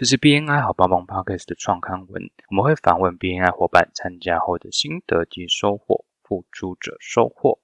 这是 BNI 好帮帮 Podcast 的创刊文，我们会访问 BNI 伙伴参加后的心得及收获，付出者收获。